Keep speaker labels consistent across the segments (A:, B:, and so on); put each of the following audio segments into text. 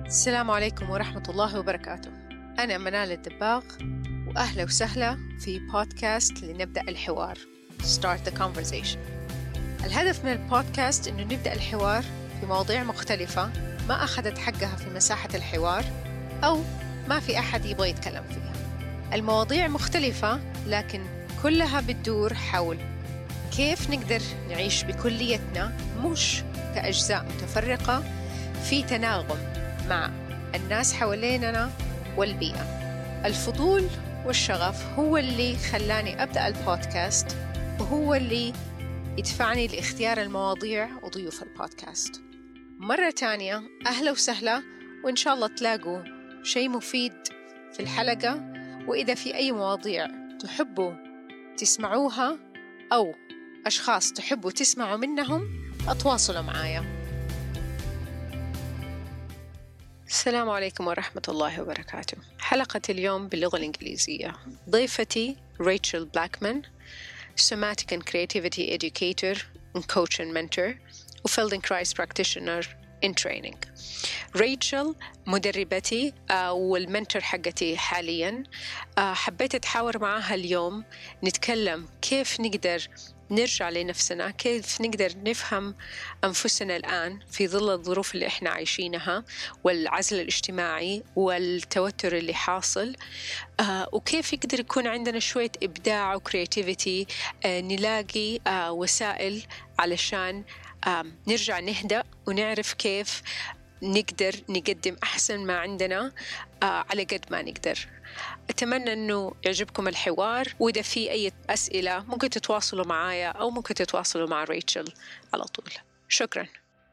A: السلام عليكم ورحمة الله وبركاته. أنا منال الدباغ، وأهلا وسهلا في بودكاست لنبدأ الحوار Start the Conversation. الهدف من البودكاست إنه نبدأ الحوار في مواضيع مختلفة ما أخذت حقها في مساحة الحوار أو ما في أحد يبغى يتكلم فيها. المواضيع مختلفة لكن كلها بتدور حول كيف نقدر نعيش بكليتنا مش كأجزاء متفرقة في تناغم مع الناس حواليننا والبيئة. الفضول والشغف هو اللي خلاني أبدأ البودكاست، وهو اللي يدفعني لاختيار المواضيع وضيوف البودكاست. مرة تانية أهلا وسهلا، وإن شاء الله تلاقوا شيء مفيد في الحلقة. وإذا في أي مواضيع تحبوا تسمعوها أو أشخاص تحبوا تسمعوا منهم أتواصلوا معايا. السلام عليكم ورحمة الله وبركاته. حلقة اليوم باللغة الإنجليزية. ضيفتي ريتشل بلاكمان، Somatic and Creativity Educator and Coach and Mentor و Feldenkrais Practitioner in Training. ريتشل مدربتي والمنتور حقتي حالياً. حبيت أتحاور معها اليوم نتكلم كيف نقدر نرجع لنفسنا، كيف نقدر نفهم أنفسنا الآن في ظل الظروف اللي إحنا عايشينها والعزل الاجتماعي والتوتر اللي حاصل، وكيف يقدر يكون عندنا شوية إبداع وكرياتيفيتي، نلاقي وسائل علشان نرجع نهدأ ونعرف كيف نقدر نقدم أحسن ما عندنا على قد ما نقدر. أتمنى أنه يعجبكم الحوار، وإذا في أي أسئلة ممكن تتواصلوا معايا أو ممكن تتواصلوا مع ريتشل على طول. شكرا.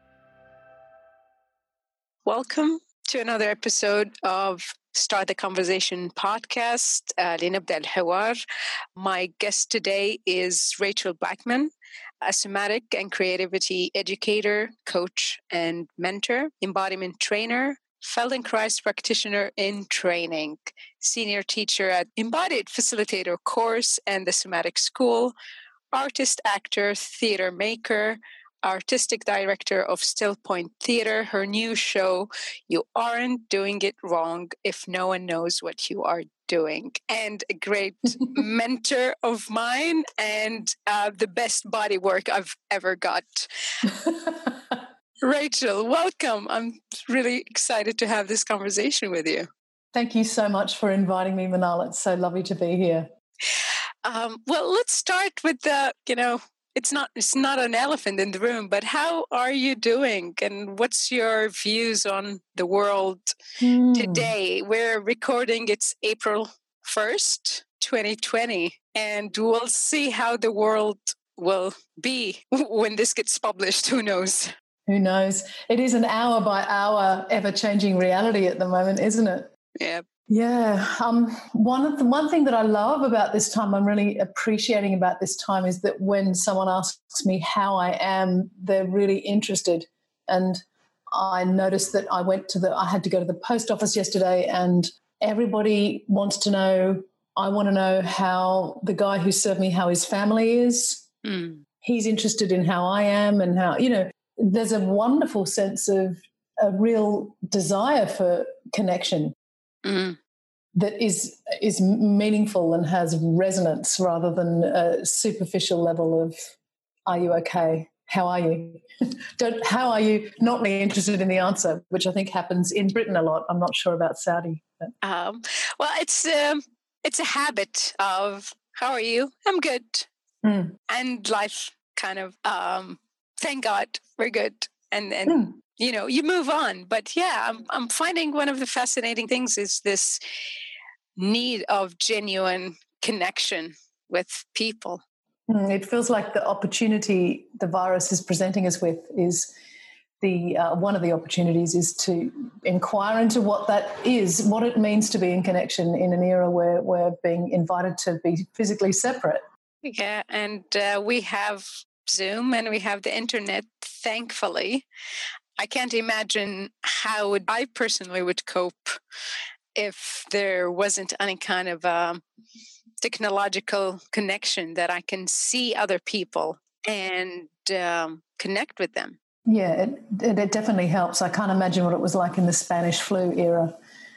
A: Welcome to another episode of Start the Conversation podcast. لنبدأ الحوار. My guest today is Rachel Blackman, a somatic and creativity educator, coach, and mentor, embodiment trainer, Feldenkrais practitioner in training, senior teacher at Embodied Facilitator course and the Somatic School, artist, actor, theater maker, artistic director of Still Point Theater. Her new show, You Aren't Doing It Wrong If No One Knows What You Are Doing, and a great mentor of mine, and the best body work I've ever got. Rachel, welcome. I'm really excited to have this conversation with you.
B: Thank you so much for inviting me, Manal. It's so lovely to be here.
A: Well, let's start with it's not an elephant in the room, but how are you doing? And what's your views on the world today? We're recording, it's April 1st, 2020, and we'll see how the world will be when this gets published. Who knows?
B: Who knows? It is an hour by hour ever-changing reality at the moment, isn't it?
A: Yeah.
B: Yeah. One thing that I love about this time, I'm really appreciating about this time, is that when someone asks me how I am, they're really interested. And I noticed that I had to go to the post office yesterday, and everybody wants to know. I want to know how the guy who served me, how his family is. He's interested in how I am and how, there's a wonderful sense of a real desire for connection that is meaningful and has resonance rather than a superficial level of, are you okay? How are you? How are you? Not really interested in the answer, which I think happens in Britain a lot. I'm not sure about Saudi.
A: Well, it's a habit of, how are you? I'm good. And life kind of, thank God we're good. And you move on. But yeah, I'm finding one of the fascinating things is this need of genuine connection with people.
B: It feels like the opportunity the virus is presenting us with is one of the opportunities is to inquire into what that is, what it means to be in connection in an era where we're being invited to be physically separate.
A: Yeah, and we have Zoom and we have the internet, thankfully. I can't imagine how I personally would cope if there wasn't any kind of technological connection that I can see other people and connect with them.
B: Yeah, it definitely helps. I can't imagine what it was like in the Spanish flu era.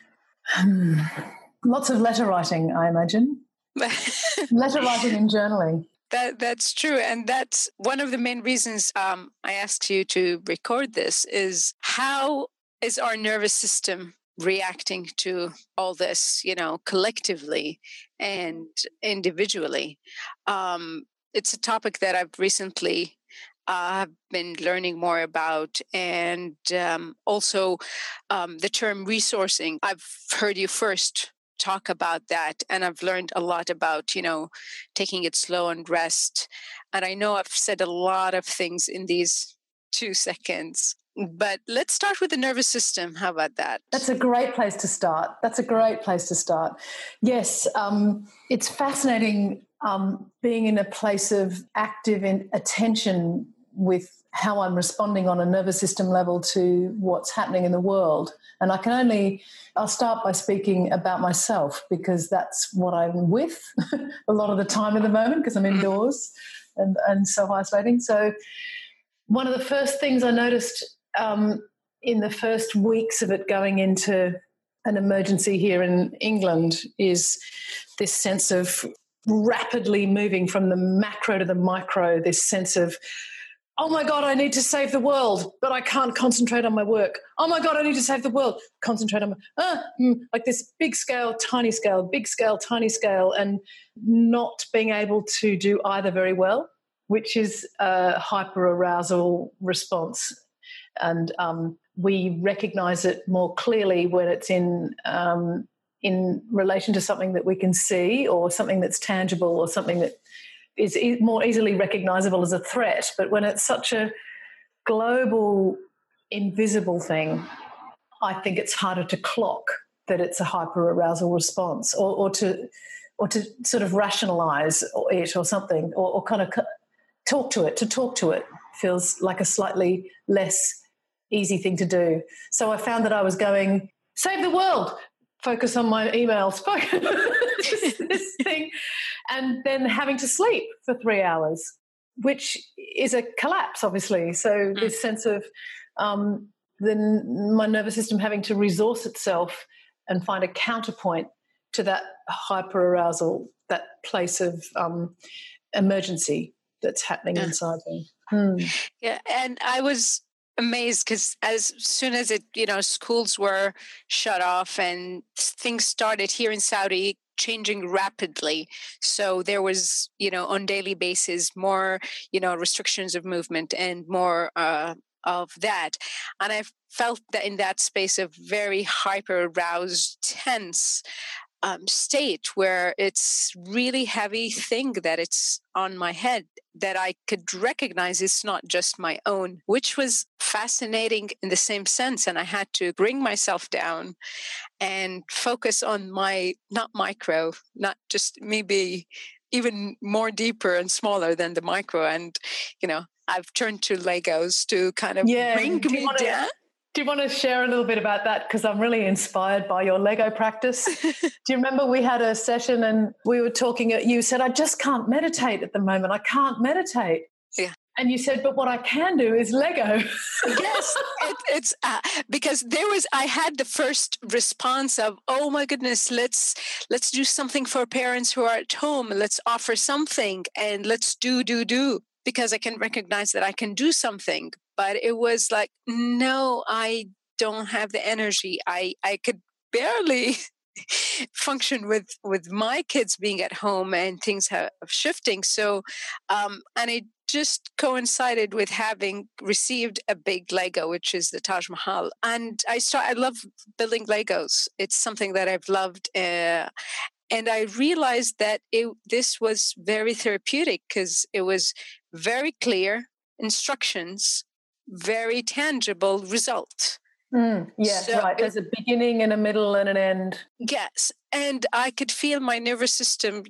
B: Lots of letter writing, I imagine. Letter writing and journaling.
A: That's true. And that's one of the main reasons I asked you to record this is how is our nervous system reacting to all this, collectively and individually. It's a topic that I've recently been learning more about, and also the term resourcing. I've heard you first talk about that, and I've learned a lot about, taking it slow and rest. And I know I've said a lot of things in these 2 seconds. But let's start with the nervous system. How about that?
B: That's a great place to start. Yes, it's fascinating being in a place of active attention with how I'm responding on a nervous system level to what's happening in the world. And I'll start by speaking about myself because that's what I'm with a lot of the time at the moment because I'm indoors and self-isolating. So one of the first things I noticed in the first weeks of it going into an emergency here in England is this sense of rapidly moving from the macro to the micro, this sense of, oh my God, I need to save the world, but I can't concentrate on my work. Oh my God, I need to save the world, concentrate on like this big scale, tiny scale, big scale, tiny scale, and not being able to do either very well, which is a hyperarousal response. And we recognize it more clearly when it's in relation to something that we can see or something that's tangible or something that is more easily recognizable as a threat. But when it's such a global, invisible thing, I think it's harder to clock that it's a hyperarousal response or to sort of rationalize it or something or kind of talk to it. To talk to it feels like a slightly less easy thing to do. So I found that I was going, save the world, focus on my emails, this thing, and then having to sleep for 3 hours, which is a collapse, obviously. So this sense of my nervous system having to resource itself and find a counterpoint to that hyperarousal, that place of emergency that's happening inside me.
A: Yeah, and I was amazed because as soon as schools were shut off and things started here in Saudi changing rapidly, so there was on daily basis more restrictions of movement and more of that, and I felt that in that space of very hyper aroused, tense state where it's really heavy thing that it's on my head that I could recognize it's not just my own, which was fascinating in the same sense. And I had to bring myself down and focus on my, not micro, not just maybe even more deeper and smaller than the micro. And, I've turned to Legos to kind of bring me down.
B: Do you want to share a little bit about that? Because I'm really inspired by your Lego practice. Do you remember we had a session and we were talking, you said, I just can't meditate at the moment. I can't meditate.
A: Yeah.
B: And you said, but what I can do is Lego.
A: Yes, it's because I had the first response of, oh my goodness, let's do something for parents who are at home. Let's offer something and let's do, because I can recognize that I can do something. But it was like, no, I don't have the energy. I could barely function with my kids being at home and things have shifting. So, and it just coincided with having received a big Lego, which is the Taj Mahal. And I love building Legos. It's something that I've loved. And I realized that this was very therapeutic because it was very clear instructions, very tangible result.
B: Yes, so right. There's a beginning and a middle and an end.
A: Yes. And I could feel my nervous system,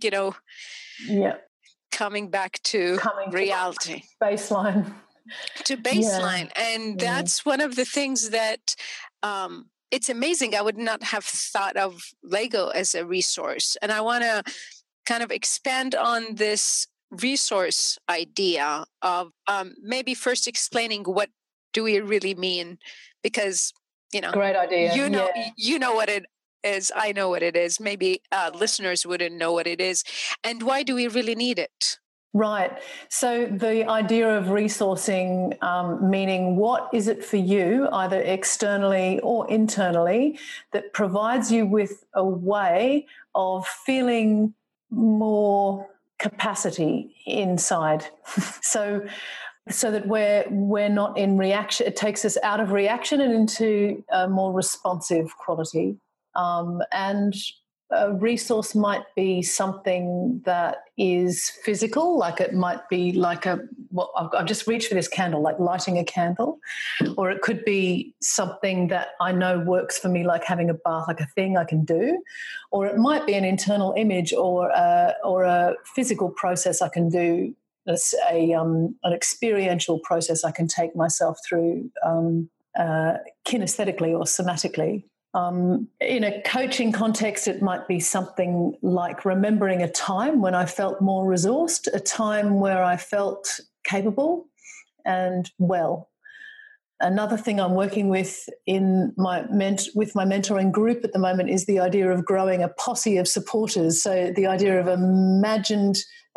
A: coming back to reality.
B: Baseline.
A: To baseline. Yeah. And that's one of the things that it's amazing. I would not have thought of Lego as a resource. And I want to kind of expand on this resource idea of maybe first explaining what do we really mean? Because,
B: great idea.
A: You know what it is. I know what it is. Maybe listeners wouldn't know what it is. And why do we really need it?
B: Right. So the idea of resourcing, meaning what is it for you, either externally or internally, that provides you with a way of feeling more capacity inside. so that we're not in reaction. It takes us out of reaction and into a more responsive quality. And a resource might be something that is physical, like it might be like I've just reached for this candle, like lighting a candle, or it could be something that I know works for me, like having a bath, like a thing I can do, or it might be an internal image or a physical process I can do, an experiential process I can take myself through kinesthetically or somatically. In a coaching context, it might be something like remembering a time when I felt more resourced, a time where I felt capable and well. Another thing I'm working with in my mentoring group at the moment is the idea of growing a posse of supporters. So the idea of imagined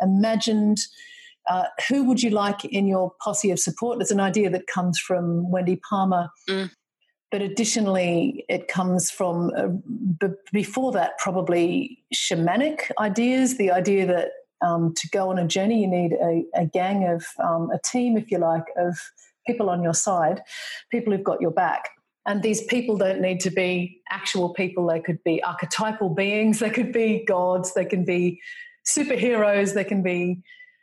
B: who would you like in your posse of support? It's an idea that comes from Wendy Palmer. But additionally, it comes from, before that, probably shamanic ideas, the idea that to go on a journey, you need a gang of, a team, if you like, of people on your side, people who've got your back. And these people don't need to be actual people. They could be archetypal beings. They could be gods. They can be superheroes. They can be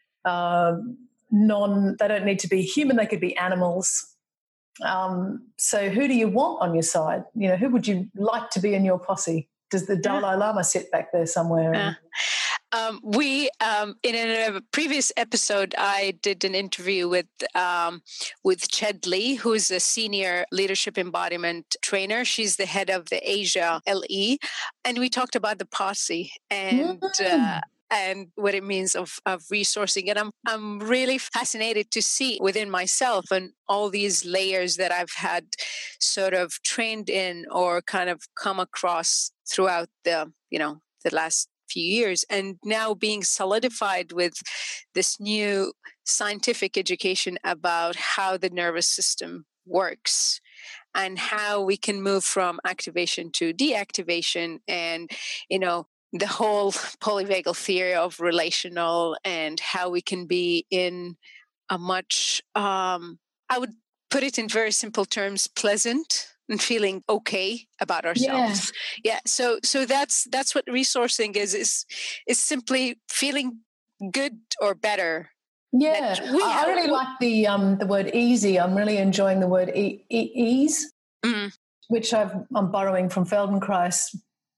B: they don't need to be human. They could be animals. So who do you want on your side? Who would you like to be in your posse? Does the Dalai Lama sit back there somewhere?
A: In a previous episode, I did an interview with Ched Lee, who's a senior leadership embodiment trainer. She's the head of the Asia LE, and we talked about the posse and what it means of resourcing. And I'm really fascinated to see within myself and all these layers that I've had sort of trained in or kind of come across throughout the last few years, and now being solidified with this new scientific education about how the nervous system works and how we can move from activation to deactivation, and the whole polyvagal theory of relational, and how we can be in a much, I would put it in very simple terms, pleasant and feeling okay about ourselves. Yeah. So that's what resourcing is simply feeling good or better.
B: Yeah. I really like the word easy. I'm really enjoying the word ease, which I'm borrowing from Feldenkrais.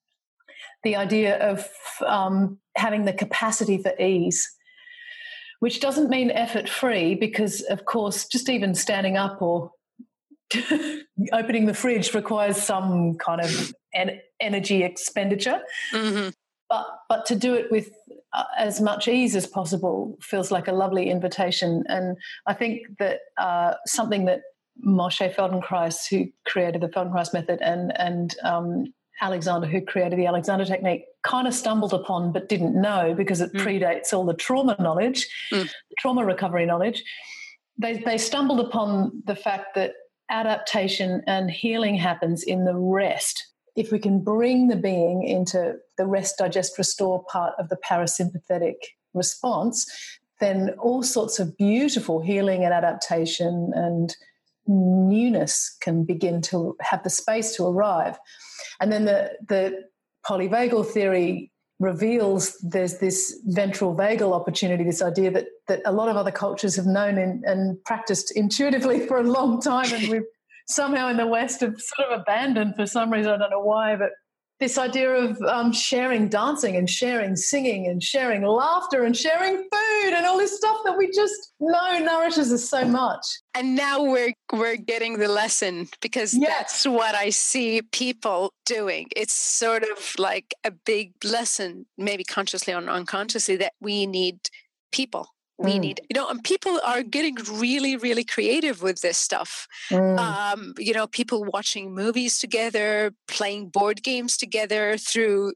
B: The idea of having the capacity for ease, which doesn't mean effort-free, because, of course, just even standing up or opening the fridge requires some kind of energy expenditure. Mm-hmm. But to do it with as much ease as possible feels like a lovely invitation. And I think that something that Moshe Feldenkrais, who created the Feldenkrais method, and Alexander, who created the Alexander technique, kind of stumbled upon but didn't know, because it predates all the trauma knowledge, the trauma recovery knowledge. They stumbled upon the fact that adaptation and healing happens in the rest. If we can bring the being into the rest, digest, restore part of the parasympathetic response, then all sorts of beautiful healing and adaptation and newness can begin to have the space to arrive. And then the polyvagal theory reveals there's this ventral vagal opportunity, this idea that a lot of other cultures have known and practiced intuitively for a long time, and we've somehow in the West have sort of abandoned for some reason. I don't know why, but this idea of sharing dancing and sharing singing and sharing laughter and sharing food and all this stuff that we just know nourishes us so much.
A: And now we're getting the lesson, because that's what I see people doing. It's sort of like a big lesson, maybe consciously or unconsciously, that we need people. We need, and people are getting really, really creative with this stuff. People watching movies together, playing board games together through,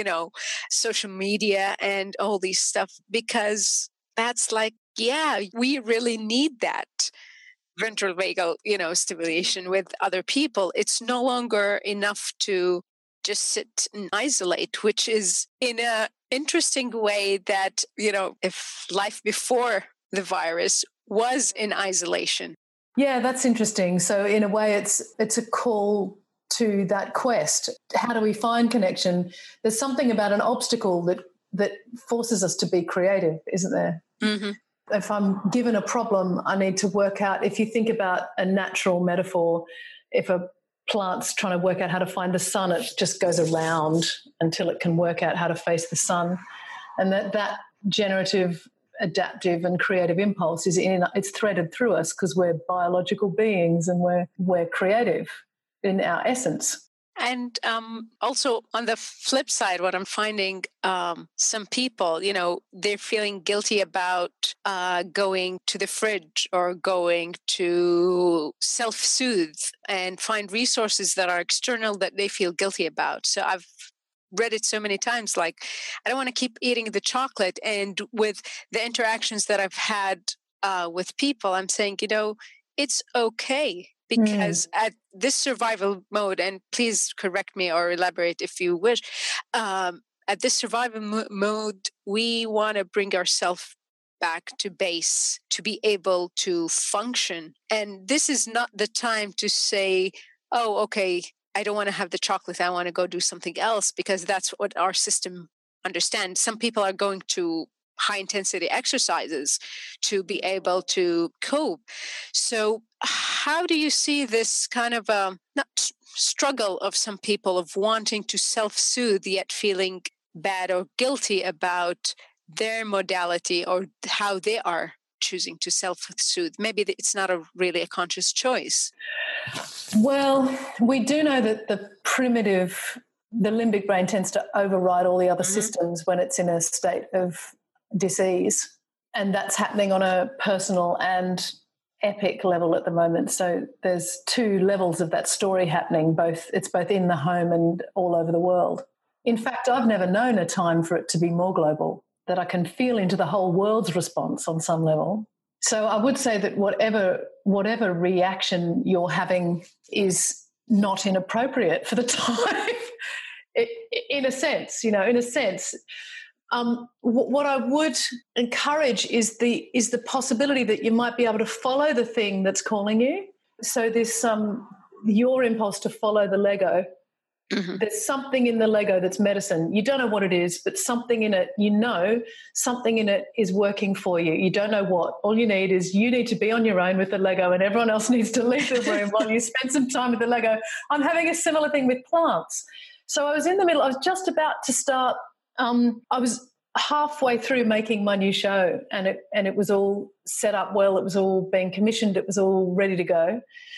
A: social media and all these stuff, because that's like, we really need that ventral vagal, stimulation with other people. It's no longer enough to just sit and isolate, which is in a interesting way that, if life before the virus was in isolation.
B: Yeah, that's interesting. So in a way, it's a call to that quest. How do we find connection? There's something about an obstacle that forces us to be creative, isn't there?
A: Mm-hmm.
B: If I'm given a problem, I need to work out, if you think about a natural metaphor, if a plant's trying to work out how to find the sun, it just goes around until it can work out how to face the sun. And that generative, adaptive and creative impulse it's threaded through us because we're biological beings and we're creative in our essence.
A: And also on the flip side, what I'm finding, some people, they're feeling guilty about going to the fridge or going to self-soothe and find resources that are external that they feel guilty about. So I've read it so many times, like, I don't want to keep eating the chocolate. And with the interactions that I've had with people, I'm saying, it's okay. Because at this survival mode, and please correct me or elaborate if you wish, at this survival mode, we want to bring ourselves back to base to be able to function. And this is not the time to say, oh, okay, I don't want to have the chocolate. I want to go do something else, because that's what our system understands. Some people are going to high intensity exercises to be able to cope. So how do you see this kind of not struggle of some people of wanting to self-soothe yet feeling bad or guilty about their modality or how they are choosing to self-soothe? Maybe it's not really a conscious choice.
B: Well, we do know that the limbic brain tends to override all the other systems when it's in a state of disease, and that's happening on a personal and epic level at the moment. So there's two levels of that story happening. It's both in the home and all over the world. In fact, I've never known a time for it to be more global, that I can feel into the whole world's response on some level. So I would say that whatever reaction you're having is not inappropriate for the time. In a sense. What I would encourage is the possibility that you might be able to follow the thing that's calling you. So this your impulse to follow the Lego. Mm-hmm. There's something in the Lego that's medicine. You don't know what it is, but something in it, something in it is working for you. You don't know what. All you need is you need to be on your own with the Lego, and everyone else needs to leave the room while you spend some time with the Lego. I'm having a similar thing with plants. So I was in the middle. I was just about to start. I was halfway through making my new show, and it was all set up well. It was all being commissioned. It was all ready to go.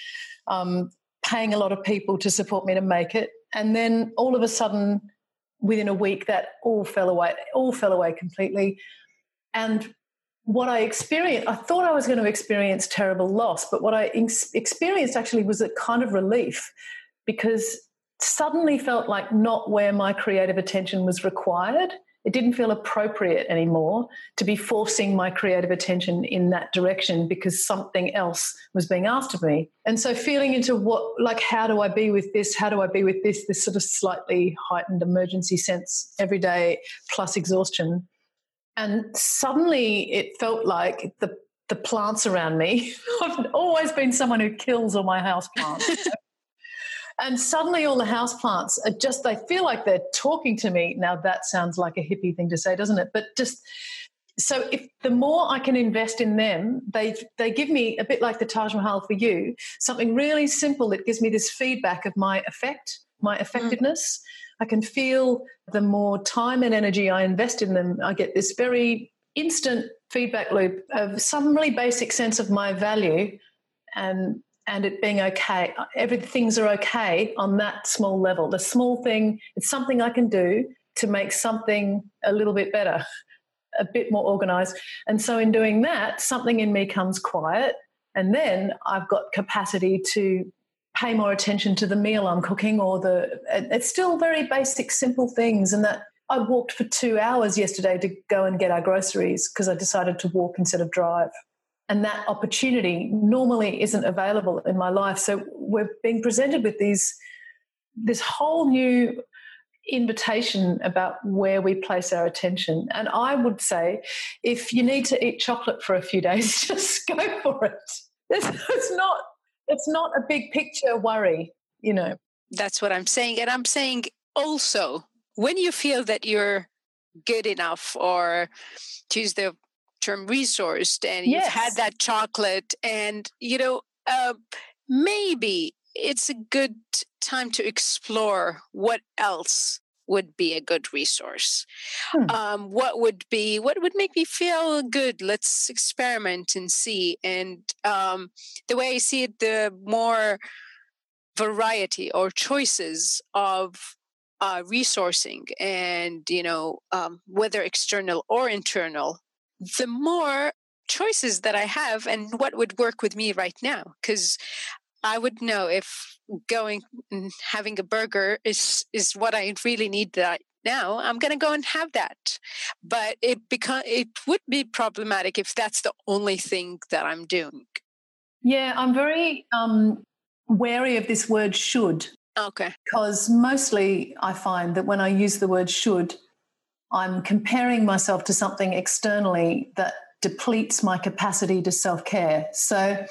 B: Paying a lot of people to support me to make it, and then all of a sudden, within a week, that all fell away completely. And what I experienced, I thought I was going to experience terrible loss, but what I experienced actually was a kind of relief, because suddenly felt like not where my creative attention was required. It didn't feel appropriate anymore to be forcing my creative attention in that direction because something else was being asked of me. And so feeling into how do I be with this? How do I be with this sort of slightly heightened emergency sense every day plus exhaustion. And suddenly it felt like the plants around me, I've always been someone who kills all my house plants. And suddenly all the houseplants they feel like they're talking to me. Now that sounds like a hippie thing to say, doesn't it? But so if the more I can invest in them, they give me, a bit like the Taj Mahal for you, something really simple that gives me this feedback of my effectiveness. I can feel the more time and energy I invest in them, I get this very instant feedback loop of some really basic sense of my value and it being okay. Things are okay on that small level. The small thing, it's something I can do to make something a little bit better. a bit more organized. And so in doing that, something in me comes quiet, and then I've got capacity to pay more attention to the meal I'm cooking, or it's still very basic, simple things. And that I walked for 2 hours yesterday to go and get our groceries because I decided to walk instead of drive. And that opportunity normally isn't available in my life. So we're being presented with this whole new invitation about where we place our attention. And I would say, if you need to eat chocolate for a few days, just go for it. It's not a big picture worry, you know.
A: That's what I'm saying. And I'm saying also, when you feel that you're good enough, or to use the term resourced, and you've had that chocolate, and, maybe it's a good time to explore what else would be a good resource. What would make me feel good? Let's experiment and see. And the way I see it, the more variety or choices of resourcing, and whether external or internal, the more choices that I have, and what would work with me right now. Because I would know if going and having a burger is what I really need right now, I'm going to go and have that. But it would be problematic if that's the only thing that I'm doing.
B: Yeah, I'm very wary of this word should.
A: Okay.
B: Because mostly I find that when I use the word should, I'm comparing myself to something externally that depletes my capacity to self-care. So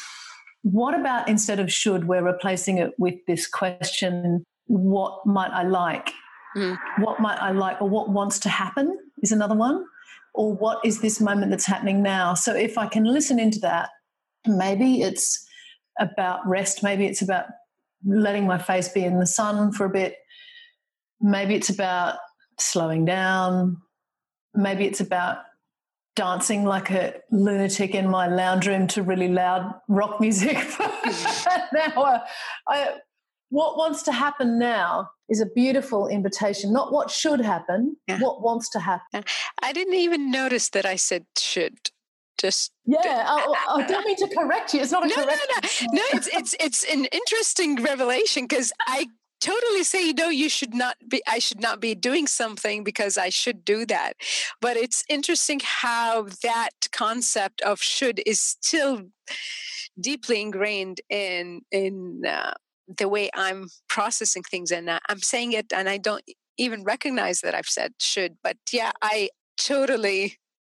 B: what about, instead of should, we're replacing it with this question, what might I like? What might I like, or what wants to happen is another one, or what is this moment that's happening now? So if I can listen into that, maybe it's about rest, maybe it's about letting my face be in the sun for a bit, maybe it's about slowing down, maybe it's about dancing like a lunatic in my lounge room to really loud rock music for an hour. What wants to happen now is a beautiful invitation, not what should happen, what wants to happen.
A: I didn't even notice that I said should. Just
B: I don't mean to correct you. It's not a correction.
A: No. It's an interesting revelation, because I totally say, no, I should not be doing something because I should do that. But it's interesting how that concept of should is still deeply ingrained in the way I'm processing things. And I'm saying it, and I don't even recognize that I've said should. But yeah, I totally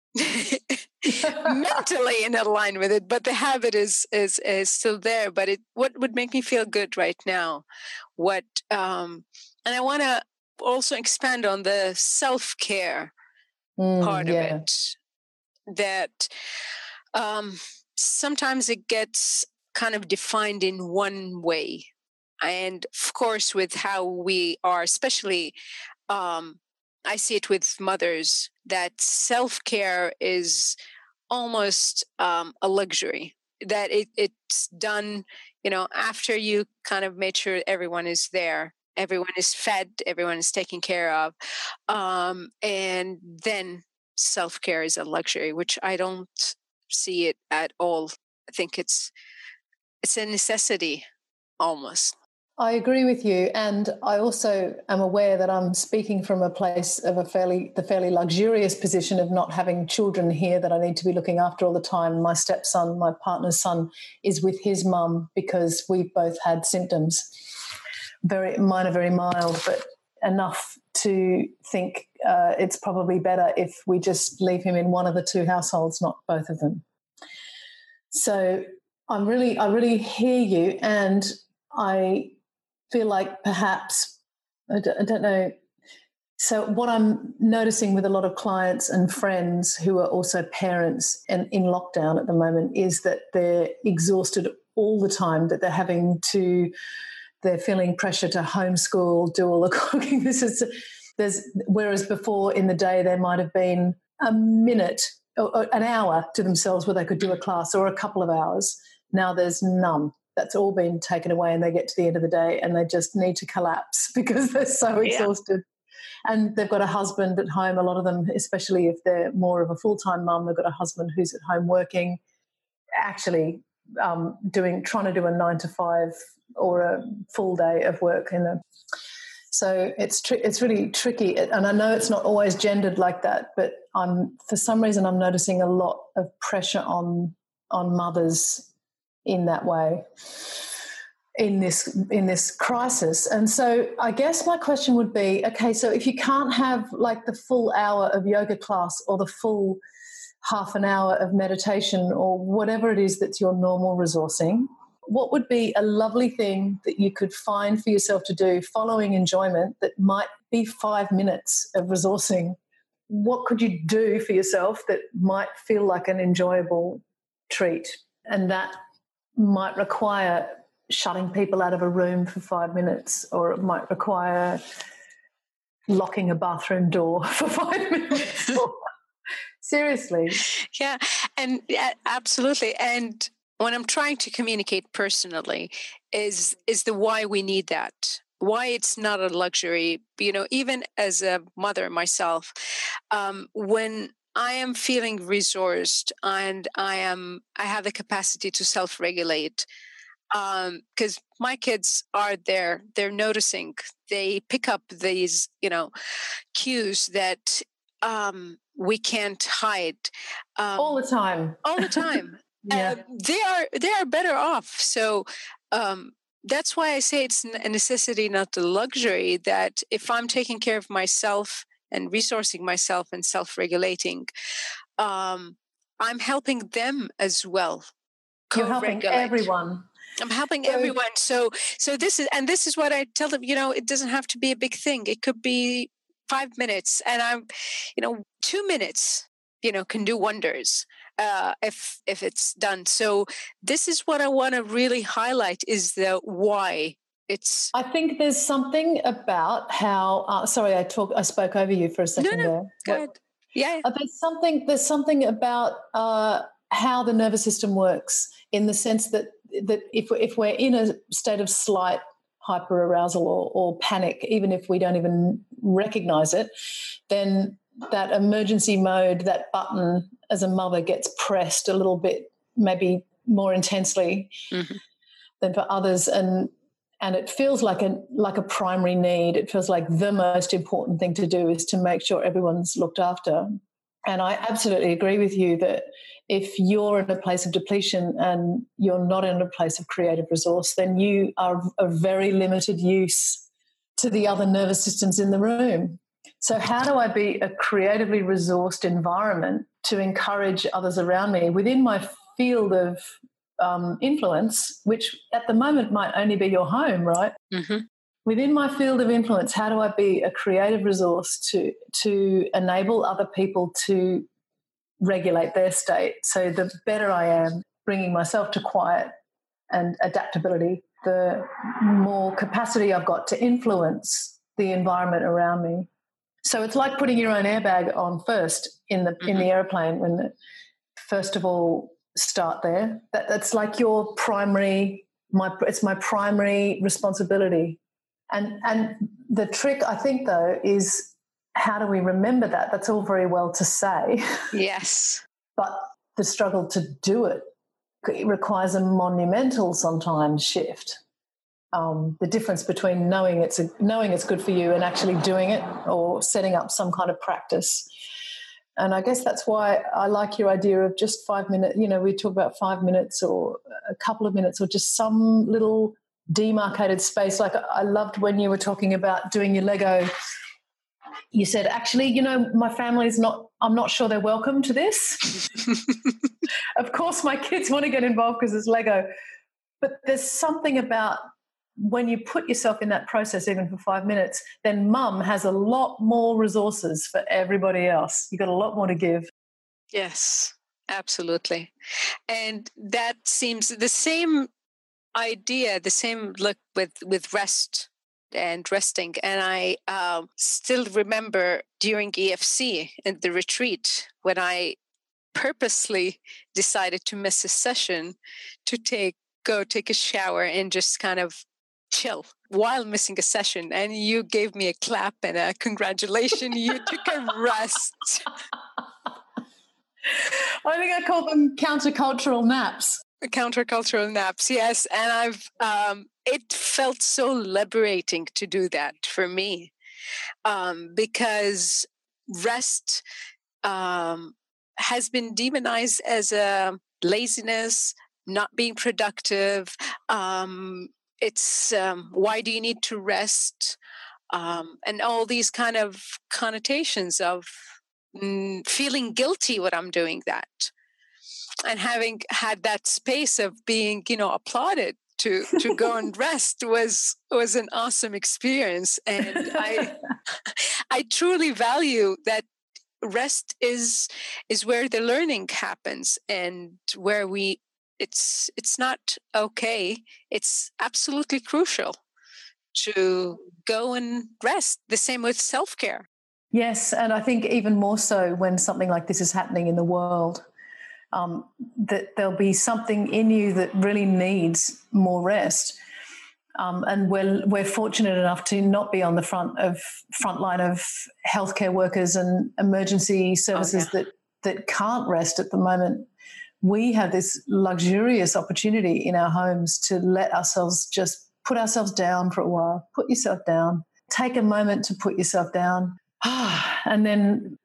A: mentally in line with it, but the habit is still there. But what would make me feel good right now? And I want to also expand on the self-care part of it. That sometimes it gets kind of defined in one way, and of course, with how we are, especially. I see it with mothers, that self-care is almost a luxury, that it's done, after you kind of made sure everyone is there, everyone is fed, everyone is taken care of. And then self-care is a luxury, which I don't see it at all. I think it's a necessity almost.
B: I agree with you, and I also am aware that I'm speaking from a place of the fairly luxurious position of not having children here that I need to be looking after all the time. My stepson, my partner's son, is with his mum because we've both had symptoms. Mine are very mild, but enough to think it's probably better if we just leave him in one of the two households, not both of them. So I really hear you, and I feel like perhaps, I don't know. So what I'm noticing with a lot of clients and friends who are also parents and in lockdown at the moment is that they're exhausted all the time, that they're feeling pressure to homeschool, do all the cooking. Whereas before in the day there might have been a minute or an hour to themselves where they could do a class, or a couple of hours. Now there's none. That's all been taken away, and they get to the end of the day and they just need to collapse because they're so exhausted. And they've got a husband at home. A lot of them, especially if they're more of a full-time mum, they've got a husband who's at home working, actually trying to do a 9 to 5 or a full day of work so it's really tricky, and I know it's not always gendered like that, but for some reason I'm noticing a lot of pressure on mothers in that way in this crisis. And so I guess my question would be, okay, so if you can't have like the full hour of yoga class or the full half an hour of meditation or whatever it is that's your normal resourcing, what would be a lovely thing that you could find for yourself to do following enjoyment that might be 5 minutes of resourcing? What could you do for yourself that might feel like an enjoyable treat? And that might require shutting people out of a room for 5 minutes, or it might require locking a bathroom door for 5 minutes. Seriously.
A: Yeah, and absolutely. And when I'm trying to communicate personally is the why we need that, why it's not a luxury. Even as a mother myself, when I am feeling resourced and I have the capacity to self-regulate, because my kids are there, they're noticing, they pick up these, cues that we can't hide.
B: All the time.
A: All the time.
B: Yeah.
A: They are better off. So that's why I say it's a necessity, not a luxury, that if I'm taking care of myself and resourcing myself and self-regulating, I'm helping them as well.
B: You're helping everyone.
A: I'm helping everyone. So this is what I tell them, it doesn't have to be a big thing. It could be 5 minutes, and 2 minutes, can do wonders. If it's done. So this is what I want to really highlight, is the why. I
B: think there's something about how. Sorry, I spoke over you for a second there.
A: Go ahead. Yeah.
B: There's something about how the nervous system works, in the sense that if we're in a state of slight hyperarousal or panic, even if we don't even recognize it, then that emergency mode, that button as a mother, gets pressed a little bit, maybe more intensely than for others, and it feels like a primary need. It feels like the most important thing to do is to make sure everyone's looked after. And I absolutely agree with you that if you're in a place of depletion and you're not in a place of creative resource, then you are of very limited use to the other nervous systems in the room. So how do I be a creatively resourced environment to encourage others around me within my field of influence, which at the moment might only be your home, right?
A: Mm-hmm.
B: Within my field of influence, how do I be a creative resource to enable other people to regulate their state? So the better I am bringing myself to quiet and adaptability, the more capacity I've got to influence the environment around me. So it's like putting your own airbag on first in the airplane. First of all, start there. That's like your primary. It's my primary responsibility. And the trick, I think, though, is how do we remember that? That's all very well to say.
A: Yes.
B: But the struggle to do it requires a monumental sometimes shift. The difference between knowing it's good for you and actually doing it, or setting up some kind of practice. And I guess that's why I like your idea of just 5 minutes. We talk about 5 minutes or a couple of minutes, or just some little demarcated space. Like I loved when you were talking about doing your Lego. You said, actually, my family's I'm not sure they're welcome to this. Of course, my kids want to get involved because it's Lego. But there's something about when you put yourself in that process, even for 5 minutes, then mum has a lot more resources for everybody else. You've got a lot more to give.
A: Yes, absolutely. And that seems the same idea, the same look with rest and resting. And I still remember during EFC and the retreat, when I purposely decided to miss a session to go take a shower and just kind of chill while missing a session, and you gave me a clap and a congratulations. You took a rest.
B: I think I call them countercultural naps.
A: Countercultural naps, yes. And it felt so liberating to do that for me, because rest has been demonized as a laziness, not being productive. It's why do you need to rest? And all these kind of connotations of feeling guilty when I'm doing that. And having had that space of being, applauded to go and rest was an awesome experience. And I truly value that rest is where the learning happens, and where it's not okay. It's absolutely crucial to go and rest. The same with self-care.
B: Yes, and I think even more so when something like this is happening in the world, that there'll be something in you that really needs more rest. And we're fortunate enough to not be on the front line of healthcare workers and emergency services that can't rest at the moment. We have this luxurious opportunity in our homes to let ourselves just put ourselves down for a while. Put yourself down. Take a moment to put yourself down. And then,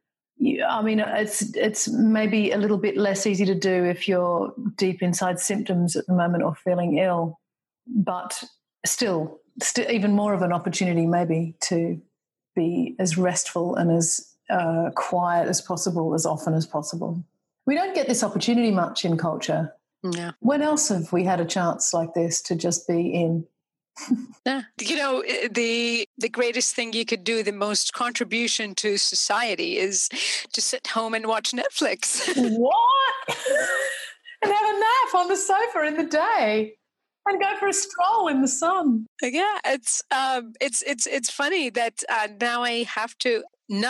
B: it's maybe a little bit less easy to do if you're deep inside symptoms at the moment or feeling ill, but still even more of an opportunity maybe to be as restful and as quiet as possible, as often as possible. We don't get this opportunity much in culture.
A: Yeah.
B: When else have we had a chance like this to just be in?
A: Yeah. The greatest thing you could do, the most contribution to society, is to sit home and watch Netflix.
B: What? And have a nap on the sofa in the day and go for a stroll in the sun.
A: Yeah, it's funny that now I have to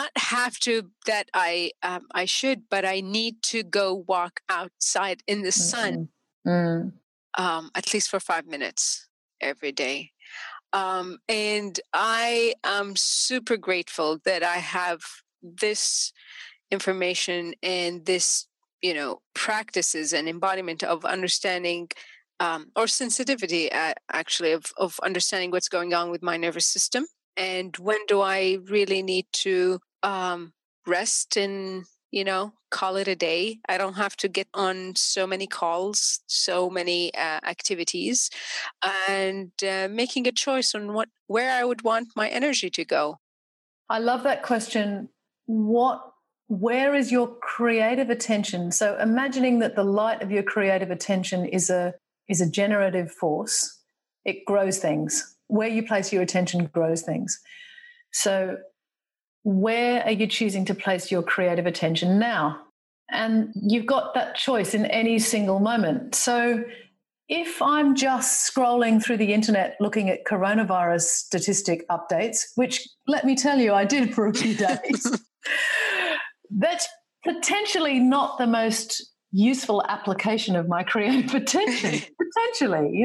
A: that I should, but I need to go walk outside in the sun, at least for 5 minutes every day. And I am super grateful that I have this information and this, practices and embodiment of understanding, or sensitivity, actually, of understanding what's going on with my nervous system. And when do I really need to rest and, call it a day? I don't have to get on so many calls, so many activities, and making a choice on where I would want my energy to go.
B: I love that question. Where is your creative attention? So imagining that the light of your creative attention is a generative force. It grows things. Where you place your attention grows things. So where are you choosing to place your creative attention now? And you've got that choice in any single moment. So if I'm just scrolling through the internet looking at coronavirus statistic updates, which, let me tell you, I did for a few days, that's potentially not the most useful application of my creative attention, potentially,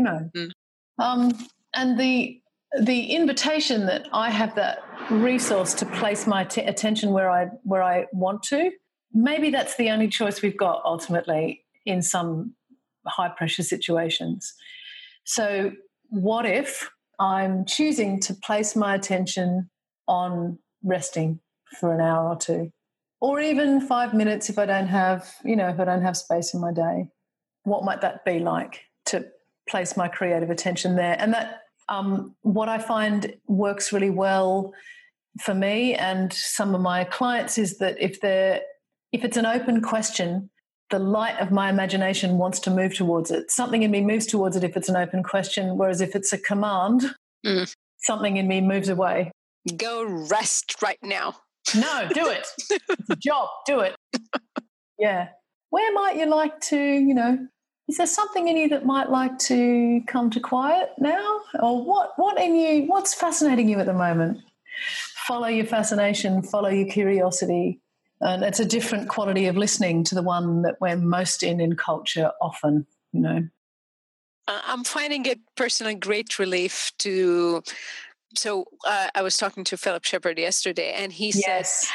B: And the invitation that I have that resource to place my attention where I want to, maybe that's the only choice we've got ultimately in some high-pressure situations. So what if I'm choosing to place my attention on resting for an hour or two, or even 5 minutes if I don't have space in my day? What might that be like to place my creative attention there? And that what I find works really well for me and some of my clients is that if it's an open question, the light of my imagination wants to move towards it. Something in me moves towards it if it's an open question, whereas if it's a command, something in me moves away.
A: Go rest right now.
B: No, do it. It's a job. Do it. Yeah. Where might you like to, is there something in you that might like to come to quiet now? Or what in you, what's fascinating you at the moment? Follow your fascination, follow your curiosity. And it's a different quality of listening to the one that we're most in culture often,
A: I'm finding it personally great relief to. So I was talking to Philip Shepard yesterday, and he said,
B: Yes.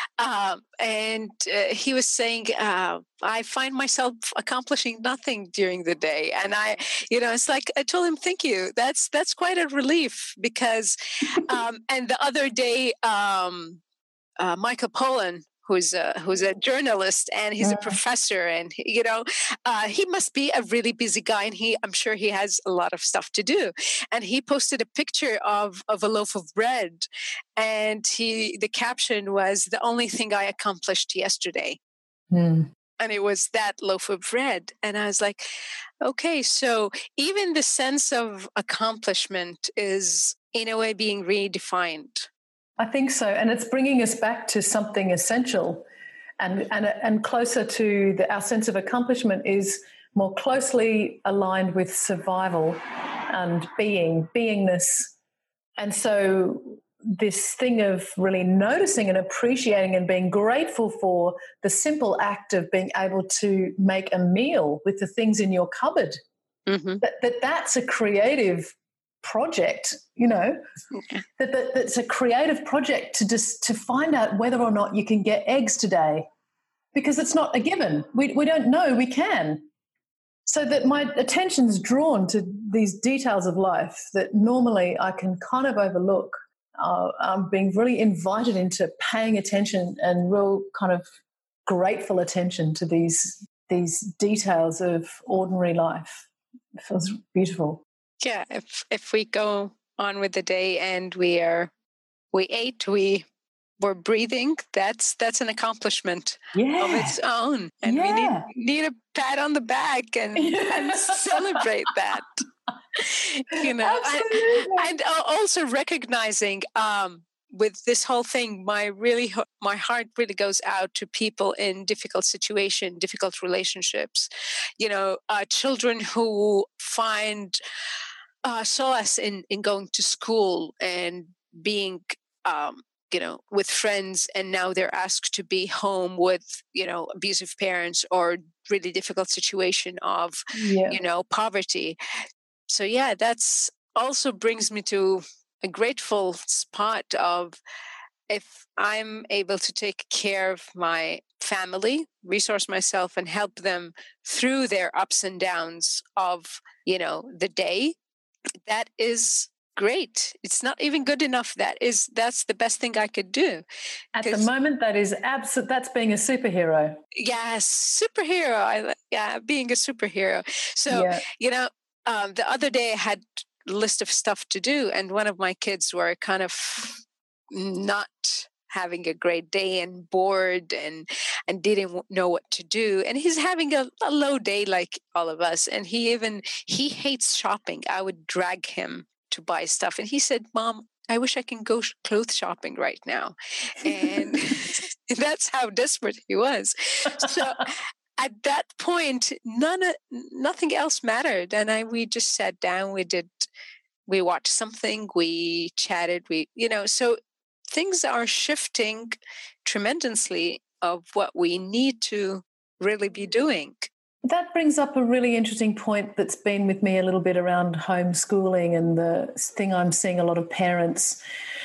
A: he was saying, I find myself accomplishing nothing during the day, and it's like I told him, thank you. That's quite a relief because, and the other day, Michael Pollan, who's a journalist and he's a professor, and he must be a really busy guy, and I'm sure he has a lot of stuff to do. And he posted a picture of a loaf of bread, and the caption was, "The only thing I accomplished yesterday."
B: Mm.
A: And it was that loaf of bread. And I was like, okay, so even the sense of accomplishment is in a way being redefined.
B: I think so, and it's bringing us back to something essential, and closer to our sense of accomplishment is more closely aligned with survival and beingness. And so this thing of really noticing and appreciating and being grateful for the simple act of being able to make a meal with the things in your cupboard, that's a creative project, that's a creative project to find out whether or not you can get eggs today, because it's not a given. We don't know we can. So that my attention's drawn to these details of life that normally I can kind of overlook. I'm being really invited into paying attention and real kind of grateful attention to these details of ordinary life. It feels beautiful.
A: Yeah, if we go on with the day and we ate, we're breathing, that's an accessment of its own, and we need a pat on the back and celebrate that. And also recognizing with this whole thing, my heart really goes out to people in difficult situations, difficult relationships. Children who find solace in going to school and being with friends, and now they're asked to be home with abusive parents or really difficult situation of poverty. So that's also brings me to a grateful spot of, if I'm able to take care of my family, resource myself, and help them through their ups and downs of the day, that is great. It's not even good enough. That's the best thing I could do.
B: At the moment, that is that's being a superhero.
A: Yes, superhero. Being a superhero. So the other day I had a list of stuff to do, and one of my kids were kind of not having a great day and bored and didn't know what to do, and he's having a low day like all of us, and he hates shopping. I would drag him to buy stuff, and he said, "Mom, I wish I can go clothes shopping right now." And that's how desperate he was. So at that point, nothing else mattered, and we just sat down. We watched something, we chatted, so things are shifting tremendously of what we need to really be doing.
B: That brings up a really interesting point that's been with me a little bit around homeschooling, and the thing I'm seeing a lot of parents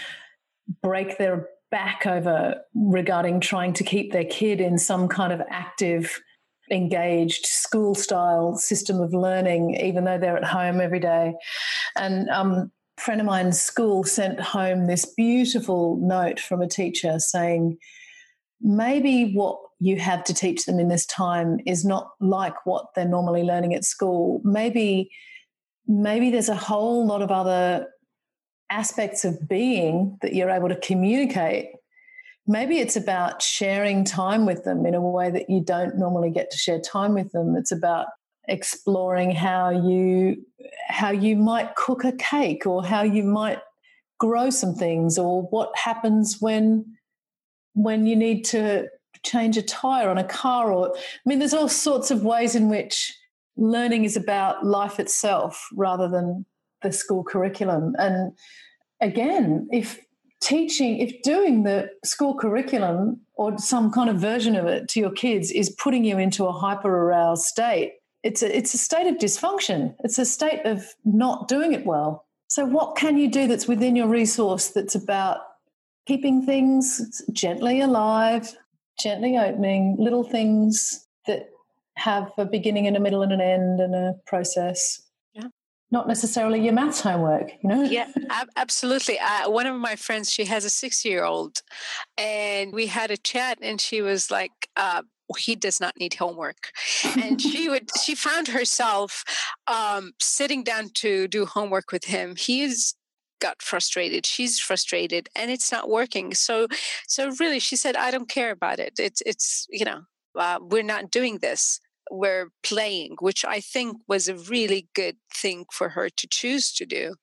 B: break their back over regarding trying to keep their kid in some kind of active, engaged school-style system of learning, even though they're at home every day. And a friend of mine's school sent home this beautiful note from a teacher saying, maybe what you have to teach them in this time is not like what they're normally learning at school. Maybe there's a whole lot of other aspects of being that you're able to communicate. Maybe it's about sharing time with them in a way that you don't normally get to share time with them. It's about exploring how you might cook a cake, or how you might grow some things, or what happens when you need to change a tire on a car. There's all sorts of ways in which learning is about life itself rather than the school curriculum. And again, if doing the school curriculum or some kind of version of it to your kids is putting you into a hyper-aroused state, it's a state of dysfunction. It's a state of not doing it well. So what can you do that's within your resource that's about keeping things gently alive, gently opening, little things that have a beginning and a middle and an end and a process?
A: Yeah.
B: Not necessarily your maths homework,
A: Yeah, absolutely. One of my friends, she has a 6-year-old, and we had a chat, and she was like, he does not need homework. And she found herself sitting down to do homework with him. He's got frustrated, she's frustrated, and it's not working. So really, she said, I don't care about it. It's we're not doing this. We're playing, which I think was a really good thing for her to choose to do.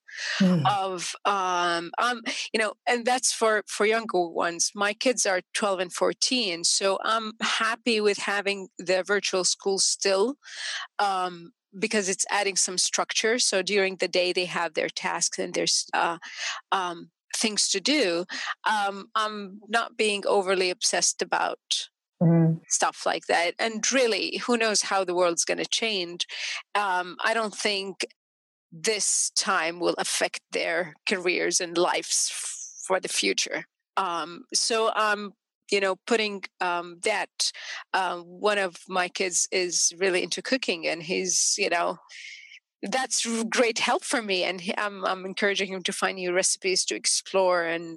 A: And that's for younger ones. My kids are 12 and 14, so I'm happy with having the virtual school still, because it's adding some structure. So during the day they have their tasks and there's things to do. I'm not being overly obsessed about stuff like that. And really, who knows how the world's going to change. I don't think this time will affect their careers and lives for the future. So I'm, putting that. One of my kids is really into cooking, and he's, that's great help for me. And I'm encouraging him to find new recipes to explore and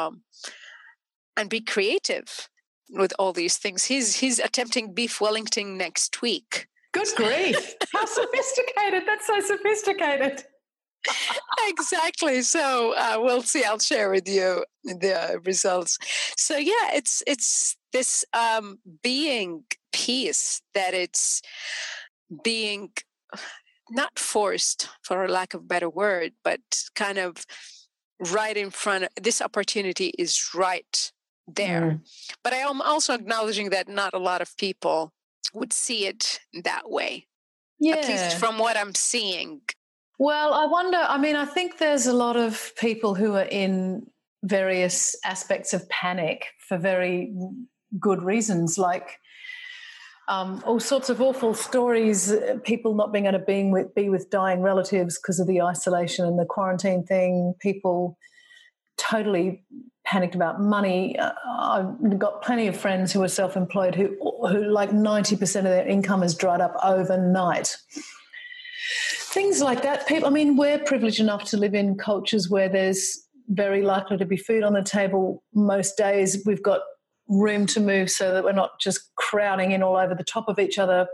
A: be creative with all these things. He's attempting beef Wellington next week.
B: Good grief. How sophisticated. That's so sophisticated.
A: Exactly. So we'll see. I'll share with you the results. So yeah, it's this being peace, that it's being not forced, for lack of a better word, but kind of right in front. This opportunity is right there. But I am also acknowledging that not a lot of people would see it that way.
B: Yeah.
A: At least from what I'm seeing.
B: Well, I think there's a lot of people who are in various aspects of panic for very good reasons, like all sorts of awful stories, people not being able to be with dying relatives because of the isolation and the quarantine thing, people totally panicked about money. I've got plenty of friends who are self-employed who like 90% of their income has dried up overnight. Things like that. We're privileged enough to live in cultures where there's very likely to be food on the table most days. We've got room to move so that we're not just crowding in all over the top of each other.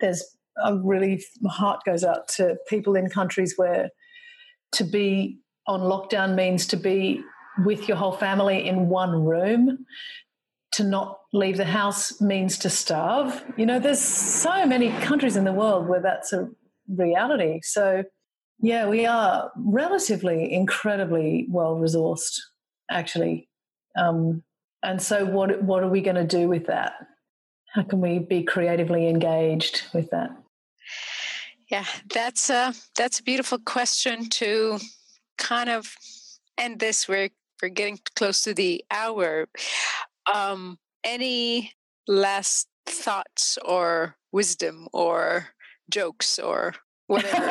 B: My heart goes out to people in countries where to be on lockdown means to be with your whole family in one room. To not leave the house means to starve. There's so many countries in the world where that's a reality. So, yeah, we are relatively incredibly well-resourced, actually. And so what are we going to do with that? How can we be creatively engaged with that?
A: Yeah, that's a beautiful question to kind of end this. We're getting close to the hour. Any last thoughts or wisdom or jokes or whatever?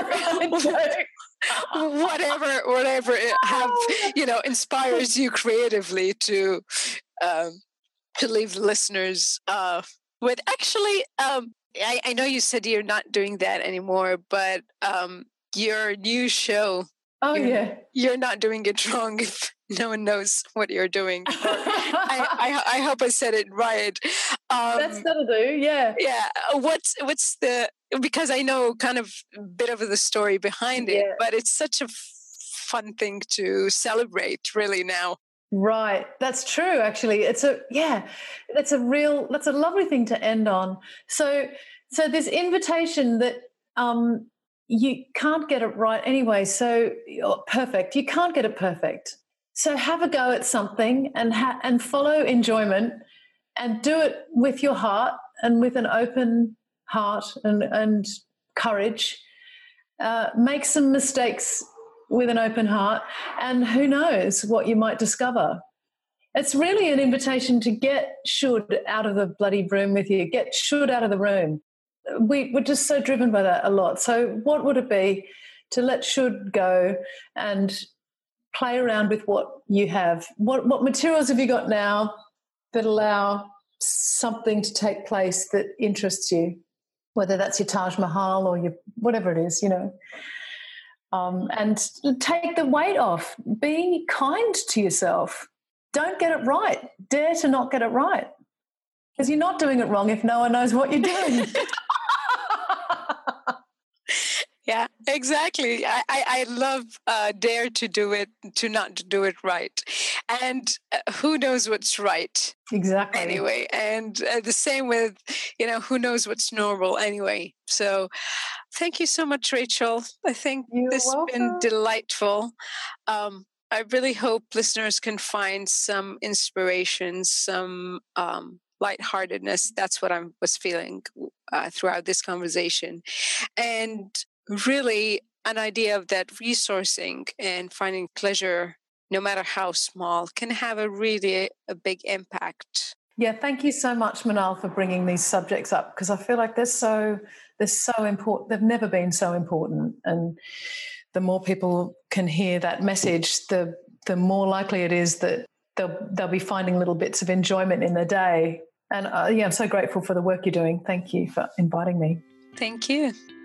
A: whatever it inspires you creatively to leave listeners with. Actually, I know you said you're not doing that anymore, but your new show, you're not doing it wrong if no one knows what you're doing. I hope I said it right.
B: That'll do. Yeah.
A: Yeah. What's because I know kind of a bit of the story behind it, but it's such a fun thing to celebrate really now.
B: Right. That's true. Actually, that's a lovely thing to end on. So this invitation that, you can't get it right anyway. So perfect. You can't get it perfect. So have a go at something and follow enjoyment and do it with your heart and with an open heart and courage. Make some mistakes with an open heart, and who knows what you might discover. It's really an invitation to get should out of the bloody room with you. Get should out of the room. we're just so driven by that a lot. So what would it be to let should go and play around with what you have? What materials have you got now that allow something to take place that interests you, whether that's your Taj Mahal or your whatever it is, and take the weight off. Be kind to yourself. Don't get it right. Dare to not get it right, because you're not doing it wrong if no one knows what you're doing.
A: Yeah, exactly. I love dare to do it, to not do it right. And who knows what's right?
B: Exactly.
A: Anyway, and the same with, who knows what's normal anyway. So thank you so much, Rachel. I think this has been delightful. I really hope listeners can find some inspiration, some lightheartedness. That's what I was feeling throughout this conversation. And really an idea of that resourcing and finding pleasure, no matter how small, can have a big impact.
B: Yeah, thank you so much, Manal, for bringing these subjects up, because I feel like they're so important. They've never been so important, and the more people can hear that message, the more likely it is that they'll be finding little bits of enjoyment in their day. And I'm so grateful for the work you're doing. Thank you for inviting me.
A: Thank you.